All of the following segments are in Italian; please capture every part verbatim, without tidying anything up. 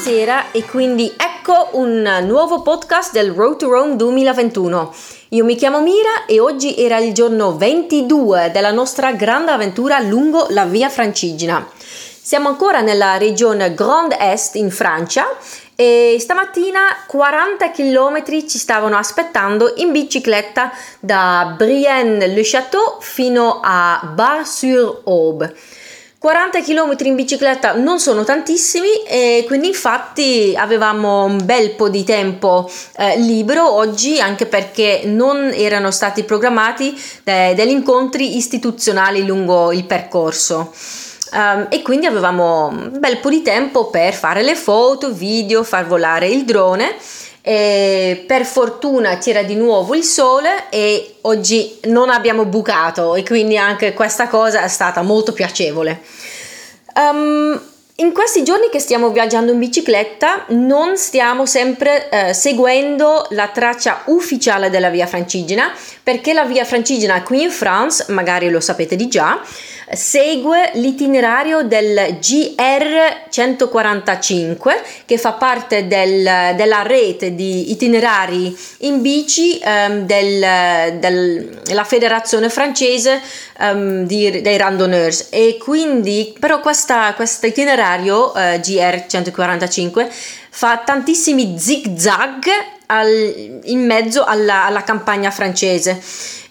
sera e quindi ecco un nuovo podcast del Road to Rome duemilaventuno. Io mi chiamo Mira e oggi era il giorno ventidue della nostra grande avventura lungo la Via Francigena. Siamo ancora nella regione Grand Est in Francia e stamattina quaranta chilometri ci stavano aspettando in bicicletta da Brienne-le-Château fino a Bar-sur-Aube. quaranta chilometri in bicicletta non sono tantissimi e quindi infatti avevamo un bel po' di tempo eh, libero oggi, anche perché non erano stati programmati de- degli incontri istituzionali lungo il percorso. Um, e quindi avevamo un bel po' di tempo per fare le foto, video, far volare il drone. E per fortuna c'era di nuovo il sole e oggi non abbiamo bucato e quindi anche questa cosa è stata molto piacevole. Um, in questi giorni che stiamo viaggiando in bicicletta non stiamo sempre eh, seguendo la traccia ufficiale della Via Francigena, perché la Via Francigena qui in France, magari lo sapete di già, segue l'itinerario del G R centoquarantacinque, che fa parte del, della rete di itinerari in bici um, del, del, della federazione francese um, di, dei randonneurs, e quindi però questa, questo itinerario uh, G R centoquarantacinque fa tantissimi zig-zag al, in mezzo alla, alla campagna francese.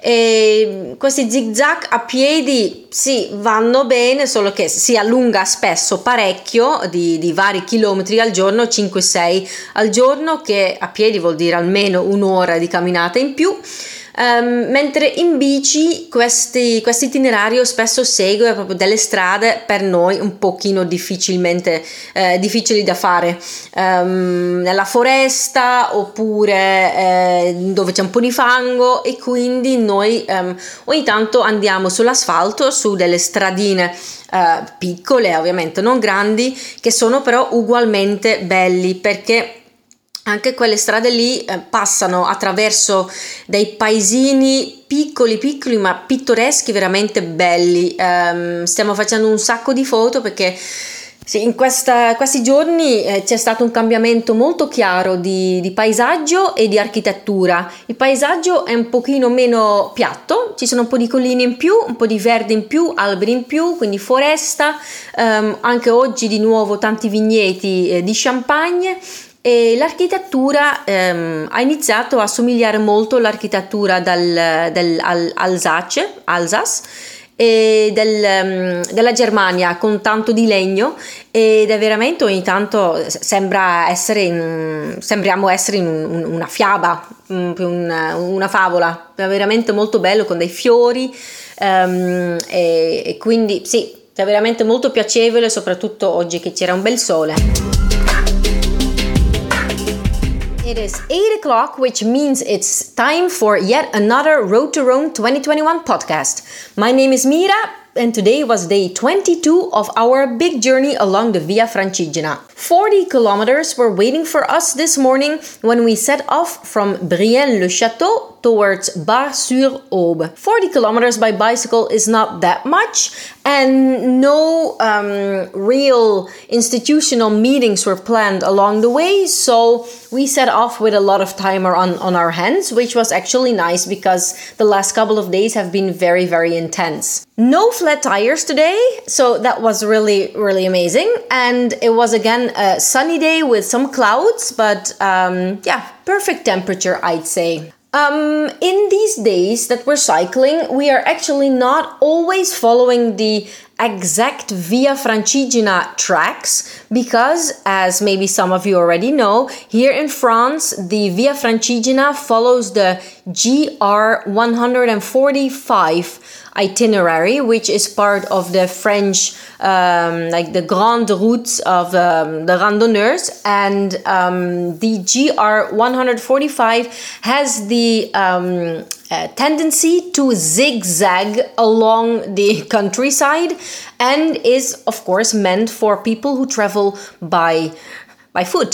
E questi zig-zag a piedi sì, vanno bene, solo che si allunga spesso parecchio, di, di vari chilometri al giorno, cinque sei al giorno, che a piedi vuol dire almeno un'ora di camminata in più. Um, mentre in bici questi, questo itinerario spesso segue proprio delle strade per noi un pochino difficilmente eh, difficili da fare, um, nella foresta oppure eh, dove c'è un po' di fango, e quindi noi um, ogni tanto andiamo sull'asfalto, su delle stradine uh, piccole, ovviamente non grandi, che sono però ugualmente belli, perché anche quelle strade lì eh, passano attraverso dei paesini piccoli piccoli ma pittoreschi, veramente belli. Um, stiamo facendo un sacco di foto perché sì, in questa, questi giorni eh, c'è stato un cambiamento molto chiaro di, di paesaggio e di architettura. Il paesaggio è un pochino meno piatto, ci sono un po' di colline in più, un po' di verde in più, alberi in più, quindi foresta, um, anche oggi di nuovo tanti vigneti eh, di champagne. E l'architettura ehm, ha iniziato a somigliare molto all'architettura dal, dell'Alsace, Alsace, e del, um, della Germania, con tanto di legno, ed è veramente ogni tanto sembra essere in, sembriamo essere in un, una fiaba, una, una favola. È veramente molto bello, con dei fiori um, e, e quindi sì, è veramente molto piacevole, soprattutto oggi che c'era un bel sole. It is eight o'clock, which means it's time for yet another Road to Rome twenty twenty-one podcast. My name is Mira, and today was day twenty-two of our big journey along the Via Francigena. forty kilometers were waiting for us this morning when we set off from Brienne-le-Château towards Bar-sur-Aube. forty kilometers by bicycle is not that much, and no um, real institutional meetings were planned along the way, so we set off with a lot of time on, on our hands, which was actually nice because the last couple of days have been very, very intense. No flat tires today, so that was really, really amazing. And it was again a sunny day with some clouds, but um, yeah, perfect temperature, I'd say. Um, in these days that we're cycling, we are actually not always following the exact Via Francigena tracks because, as maybe some of you already know, here in France, the Via Francigena follows the G R one forty-five itinerary, which is part of the French, um, like the Grande Route of um, the randonneurs, and um, the G R one forty-five has the um, uh, tendency to zigzag along the countryside, and is of course meant for people who travel by by foot.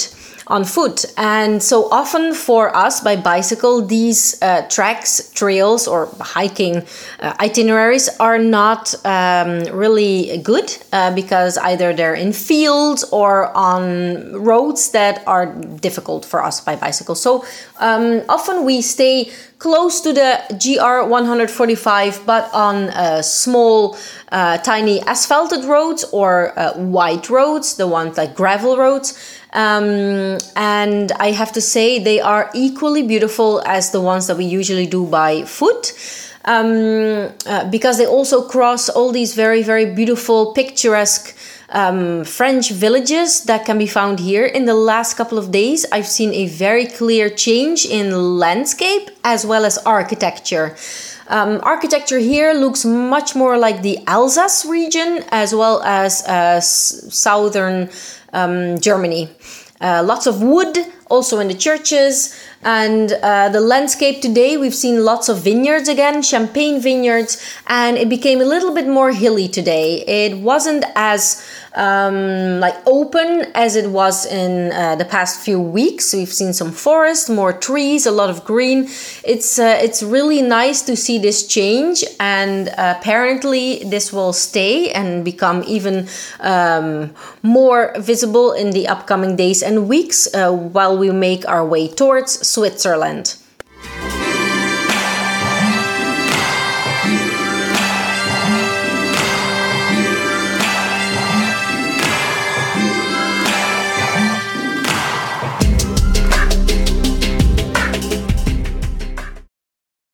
on foot. And so often for us by bicycle, these uh, tracks, trails, or hiking uh, itineraries are not um, really good uh, because either they're in fields or on roads that are difficult for us by bicycle. So um, often we stay close to the G R one forty-five, but on uh, small, uh, tiny asphalted roads or uh, white roads, the ones like gravel roads. Um, and I have to say they are equally beautiful as the ones that we usually do by foot. Um, uh, because they also cross all these very, very beautiful, picturesque um, French villages that can be found here. In the last couple of days, I've seen a very clear change in landscape as well as architecture. Um, architecture here looks much more like the Alsace region as well as uh, s- southern um, Germany. Uh, lots of wood also in the churches, and uh, the landscape today, we've seen lots of vineyards again, champagne vineyards, and it became a little bit more hilly today. It wasn't as um, like open as it was in uh, the past few weeks. We've seen some forest, more trees, a lot of green. It's uh, it's really nice to see this change, and uh, apparently this will stay and become even um, more visible in the upcoming days and weeks uh, while we make our way towards Switzerland.